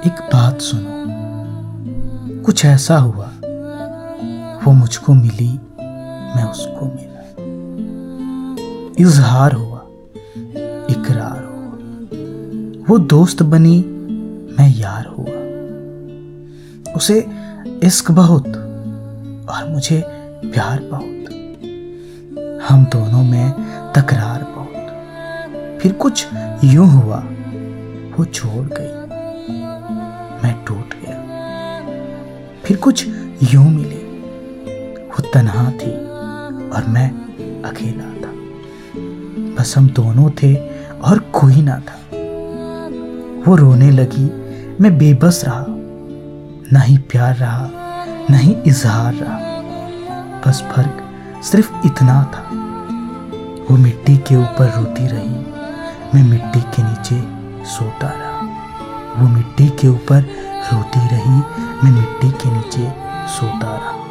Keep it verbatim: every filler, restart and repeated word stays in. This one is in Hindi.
एक बात सुनो, कुछ ऐसा हुआ, वो मुझको मिली, मैं उसको मिला। इजहार हुआ, इकरार हुआ, वो दोस्त बनी, मैं यार हुआ। उसे इश्क बहुत और मुझे प्यार बहुत, हम दोनों में तकरार बहुत। फिर कुछ यूं हुआ, वो छोड़ गई, मैं टूट गया। फिर कुछ यूं मिली, वो तन्हा थी और मैं अकेला था। बस हम दोनों थे और कोई ना था। वो रोने लगी, मैं बेबस रहा, ना ही प्यार रहा, ना ही इजहार रहा। बस फर्क सिर्फ इतना था, वो मिट्टी के ऊपर रोती रही, मैं मिट्टी के नीचे सोता रहा। वो मिट्टी के ऊपर रोती रही, मैं मिट्टी के नीचे सोता रहा।